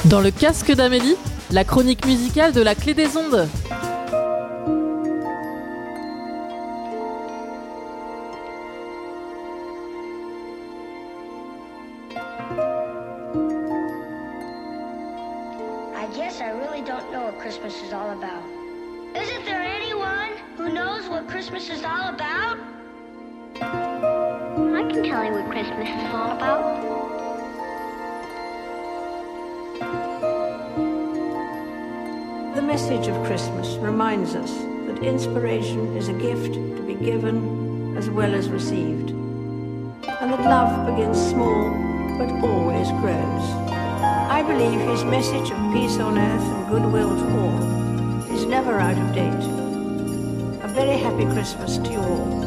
Dans le casque d'Amélie, la chronique musicale de la Clé des Ondes. I guess I really don't know what Christmas is all about. Isn't there anyone who knows what Christmas is all about? I can tell you what Christmas is all about. The message of Christmas reminds us that inspiration is a gift to be given as well as received, and that love begins small but always grows. I believe his message of peace on earth and goodwill to all is never out of date. A very happy Christmas to you all.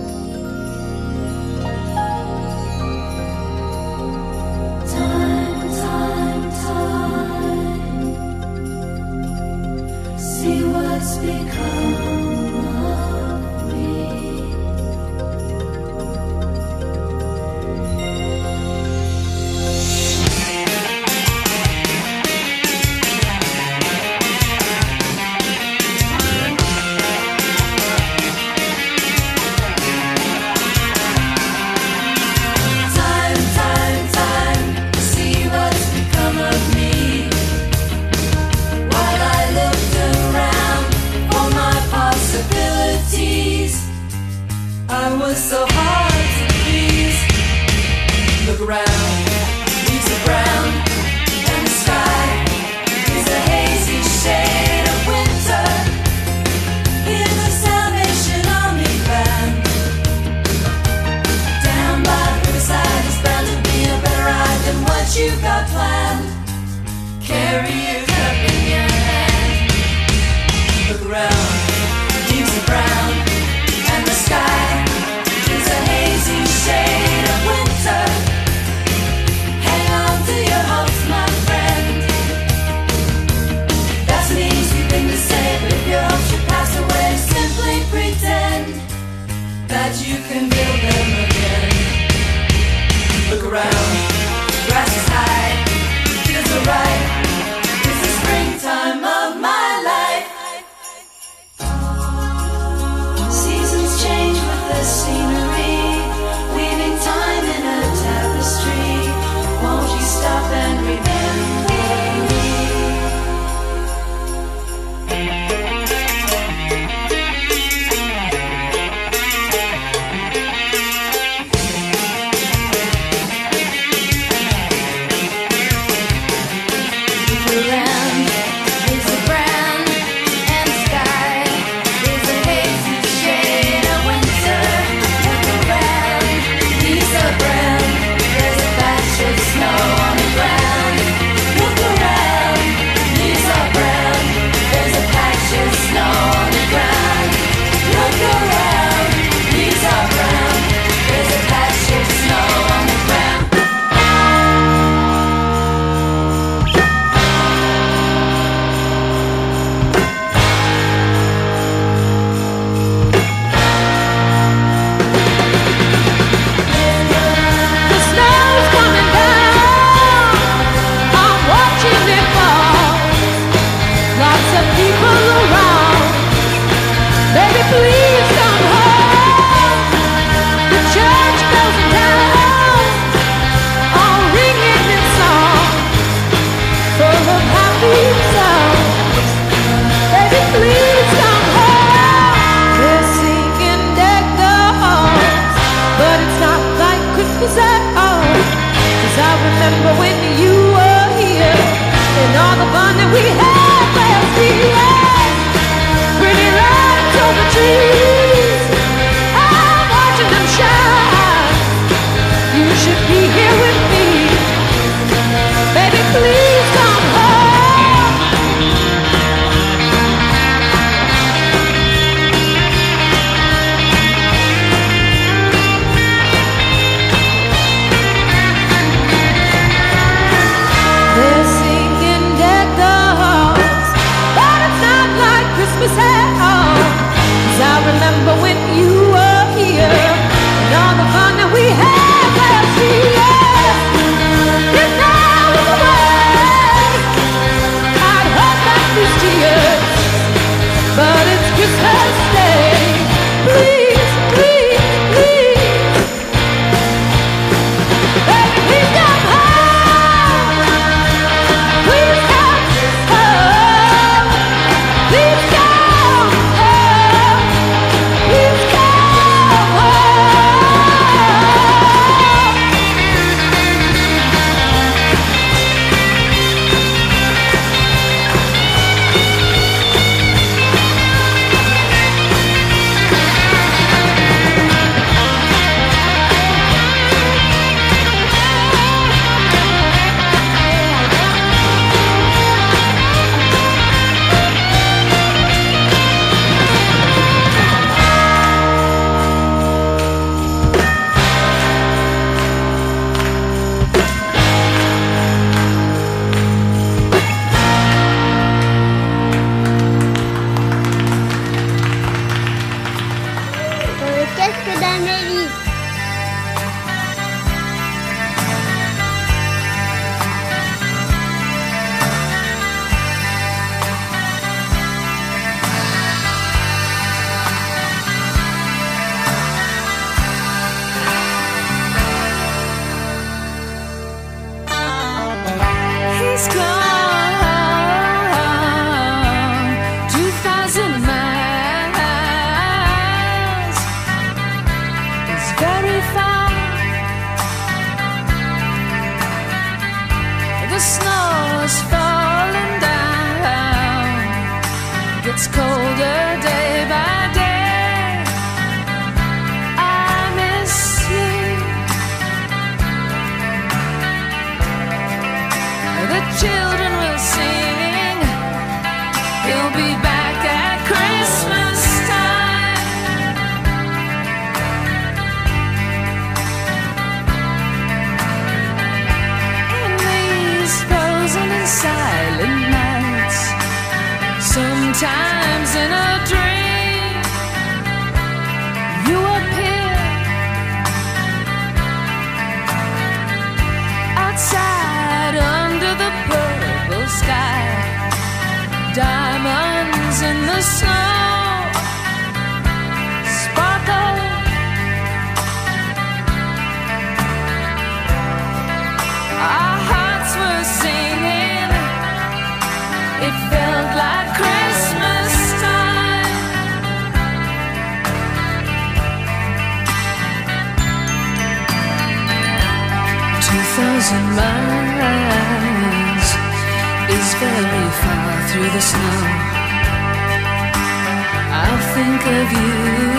See what's become of me. Time, see what's become of me. While I looked around for my possibilities, I was so hard to please. Look around, leaves are brown, and the sky is a hazy shade of winter. Hear the Salvation Army band. Down by the riverside is bound to be a better ride than what you've got planned. Carry your cup in your hand. Look around, leaves are brown, and the sky is a hazy shade of winter. Hang on to your hopes, my friend. That's an easy thing to say, but if your hopes should pass away, simply pretend that you can build them again. Look around, grass is high, fields are ripe. It's the springtime of my life. Seasons change with the scenery, weaving time in a tapestry. Won't you stop and remember me? Around is a brown, and the sky is a hazy shade of winter. Look around, leaves are brown, there's a patch of snow on the ground. Look around, leaves are brown, there's a patch of snow on the ground. Look around, leaves are brown, there's a patch of snow on the ground. The snow's coming down, I'm watching it fall. Lots of people around, baby please come home. The church bells are down, all ringing in song, full of happy songs. Baby please come home. They're singing deck the halls, but it's not like Christmas at all. 'Cause I remember when you were here, and all the fun that we had last year. Pretty lights on the trees, I'm watching them shine. You should be here with me. Baby, please come home. They're singing deck the halls, but it's not like Christmas at all. 'Cause I remember when you were here, and all the fun that we had last year. It's now away. Baby. He's gone 2,000 miles. It's very far. The snow is falling down. Gets colder day by day. I miss you. The children will sing. He'll be back at Christmas time. In these frozen and silent nights, sometimes in a dream, you appear outside under the purple sky, diamonds in the snow sparkle. Our hearts were singing. It felt like Christmas time. "2,000 miles is very far through the snow. I'll think of you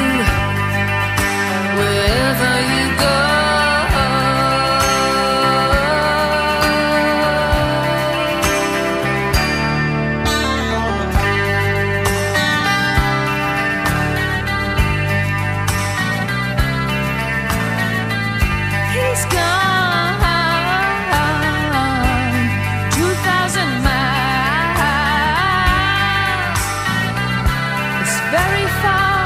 wherever you go." He's gone 2,000 miles. It's very far.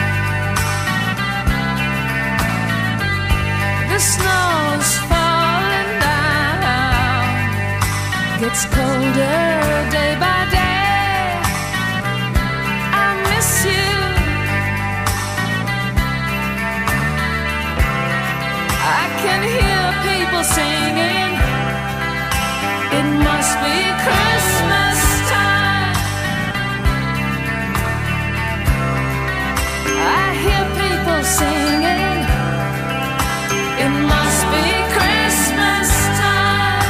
The snow's falling down. Gets colder day by day. I miss you. I can hear people singing. It must be Christmas time. I hear people singing. It must be Christmas time.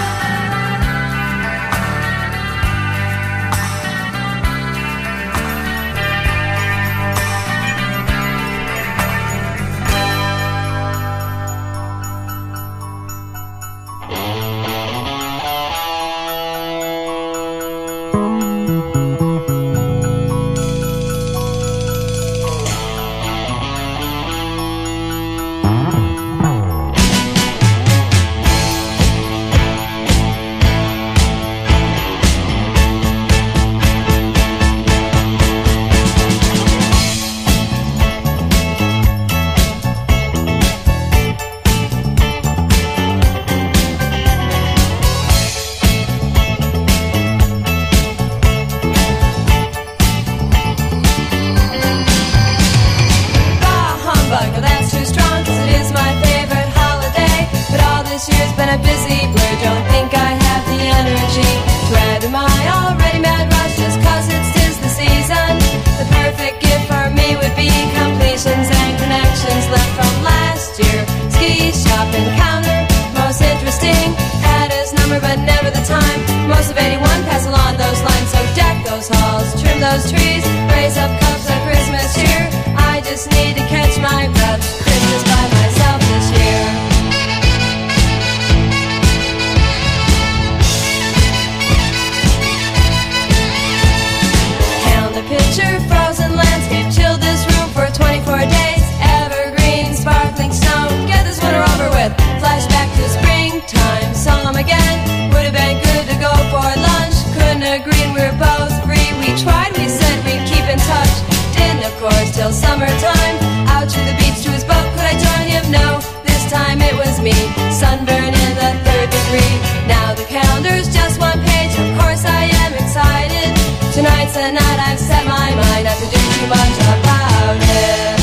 those trees, raise up cups of Christmas cheer. I just need to catch my breath. Christmas by myself this year. Count the picture, frozen landscape, chilled this room for 24 days. Evergreen, sparkling snow, get this winter over with. Flashback to springtime, saw him again. Would have been good to go for lunch. Couldn't agree, and we were both free. We tried, we said we'd keep in touch. Didn't, of course, till summertime. Out to the beach, to his boat. Could I much about it.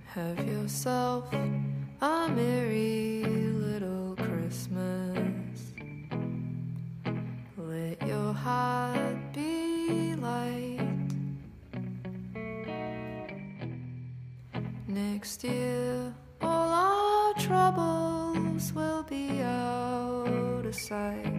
Have yourself a merry little Christmas. Let your heart be light. Next year, all our troubles will be out of sight.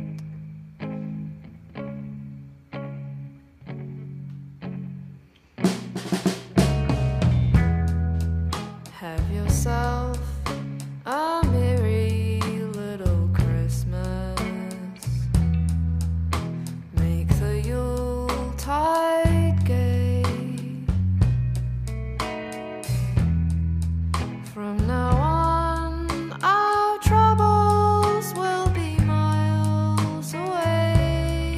Have yourself a merry little Christmas. Make the Yuletide gay. From now on, our troubles will be miles away.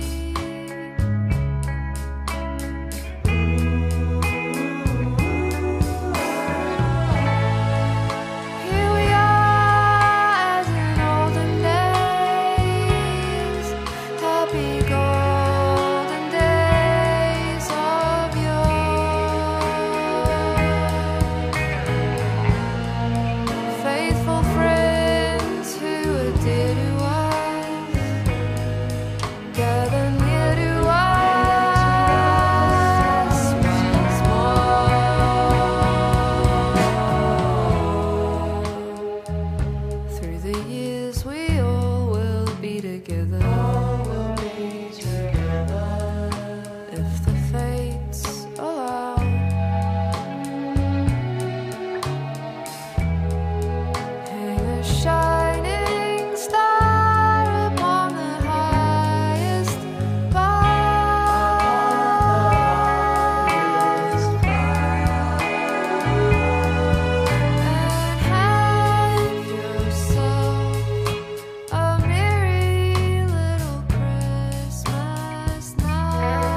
Here we are as in olden days, happy golden days of yore. Faithful friends who are dear to us, gather near to us once more. Through the years we all will be together. If the fates allow. Hang a shining star upon the highest bough, and have yourself a merry little Christmas now.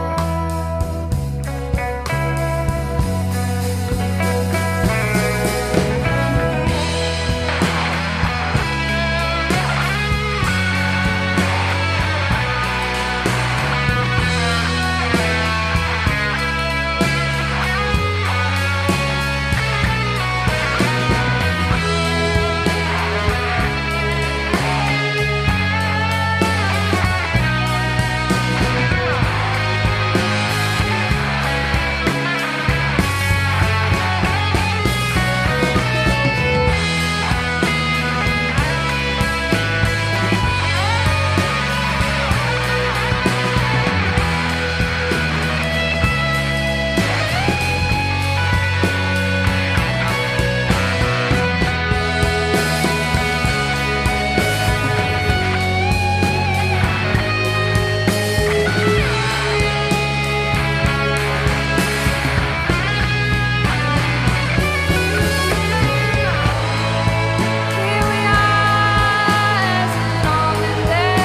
Here we are as in olden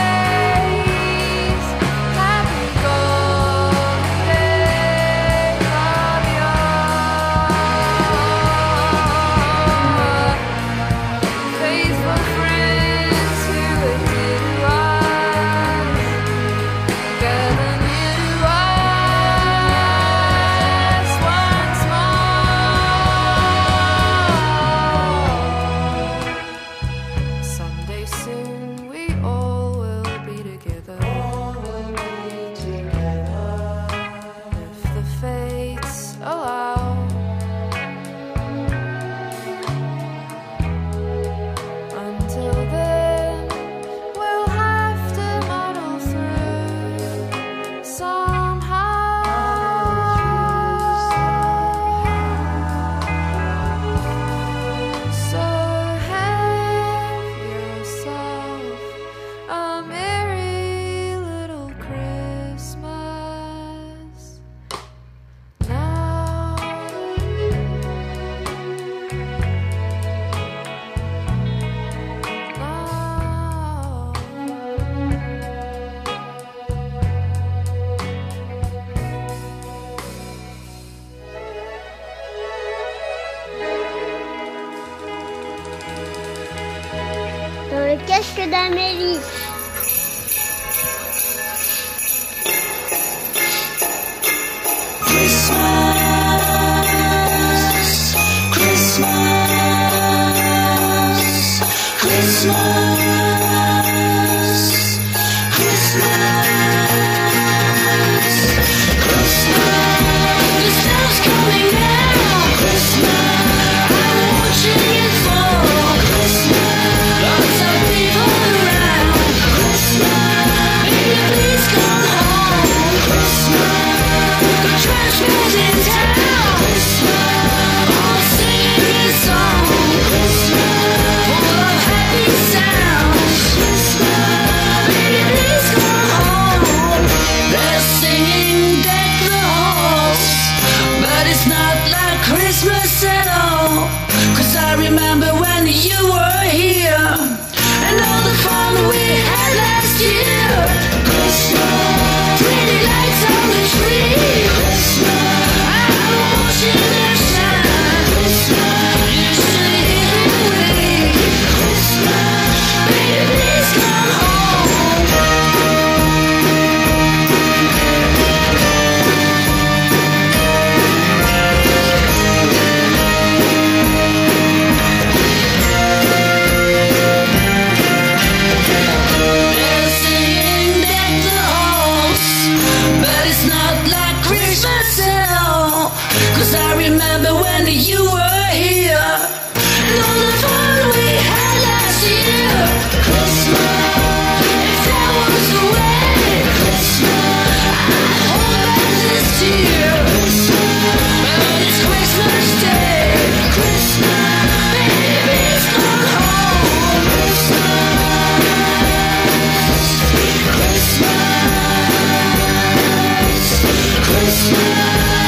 days, happy golden days of yore. Faithful friends who are dear to us, gather near to us once more. Someday soon we all will be together. If the fates allow. Until then, we'll have to muddle through somehow. So have yourself a merry little Christmas now. Dans le casque d'Amélie. Christmas, Christmas. I remember when you were here, and all the fun we had last year. Christmas, pretty lights on the tree. Christmas, I'm watching the shine. Christmas, you stay here with me. Christmas, baby, please come home. Cause I remember when you were here, and all the fun we had last year. Christmas, if that was the way, Christmas, I'd hold back this tear. But it's Christmas Day, Christmas, baby's gone home. Christmas, Christmas.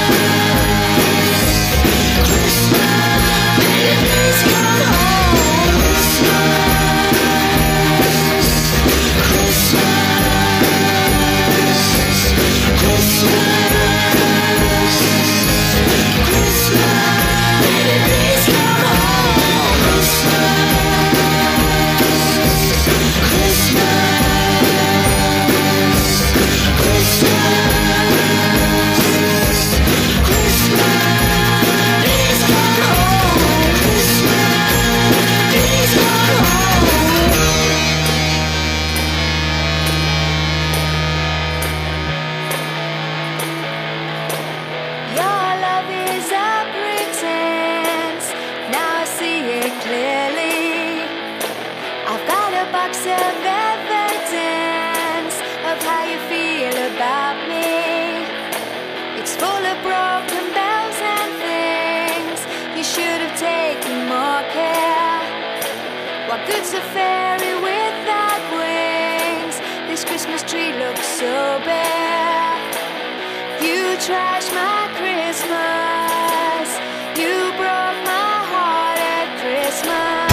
Good's a fairy without wings. This Christmas tree looks so bare. You trashed my Christmas. You broke my heart at Christmas.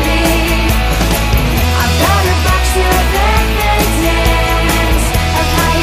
Of how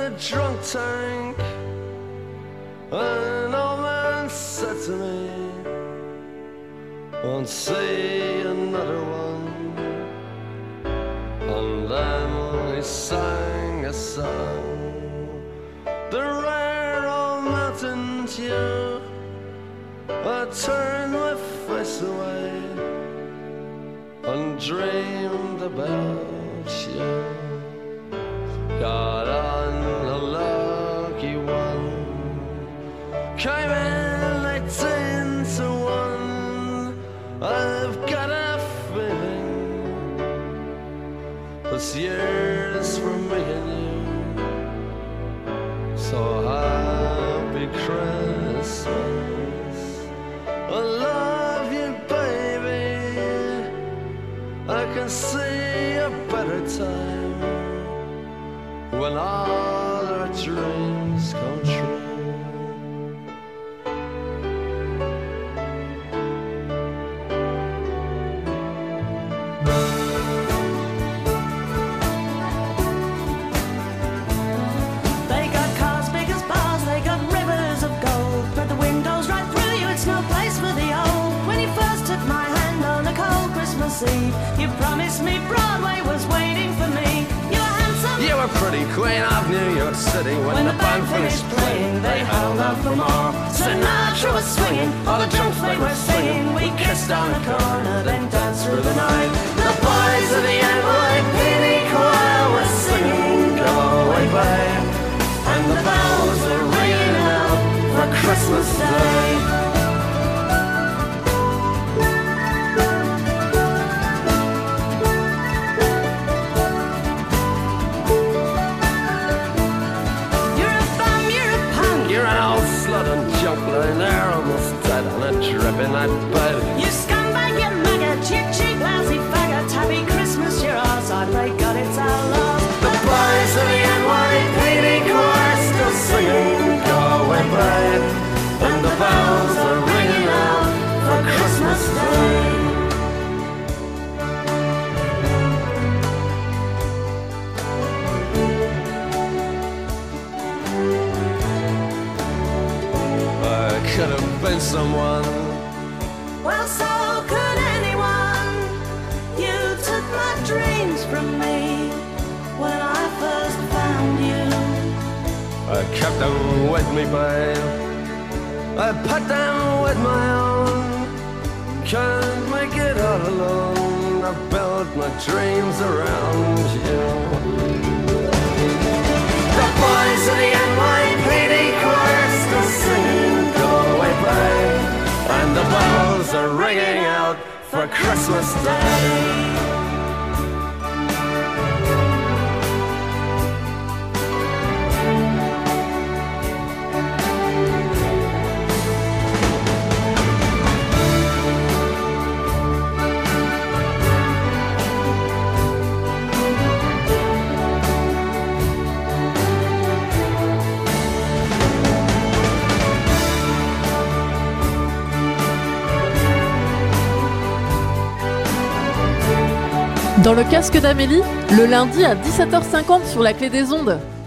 a drunk tank. An old man said to me, won't see another one. And then he sang a song, the rare old mountain tune. I turned my face away and dreamed about you. Got on a lucky one, came in 18 to 1. I've got a feeling this year's for me and you. So happy Christmas, I love you, baby. I can see a better time when all our dreams come true. They got cars big as bars, they got rivers of gold, but the windows right through you, it's no place for the old. When you first took my hand on a cold Christmas Eve, you promised me Broadway was waiting for me. You were handsome, You were pretty queen of New York City. When the band finished playing, they held out for more. Sinatra was swinging, all the drunks they were singing. We kissed on the corner, then danced through the night. The boys of the NYPD choir were singing, go away, babe. And the bells were ringing out for Christmas Day. You're an old slut and junk lying there almost dead on a dripping that bed. You scumbag, you maggot, you cheap, lousy faggot. Happy Christmas, you're ours, I pray God it's our love. The boys of the NYPD choir still singing, go away, babe. And the bells are ringing out for Christmas Day. Could have been someone. Well, so could anyone. You took my dreams from me when I first found you. I kept them with me, babe. I put them with my own. Can't make it all alone. I built my dreams around you. The boys of the NYPD choir still singing, go away, babe. And the bells are ringing out for Christmas Day. Dans le casque d'Amélie, le lundi à 17h50 sur la Clé des Ondes.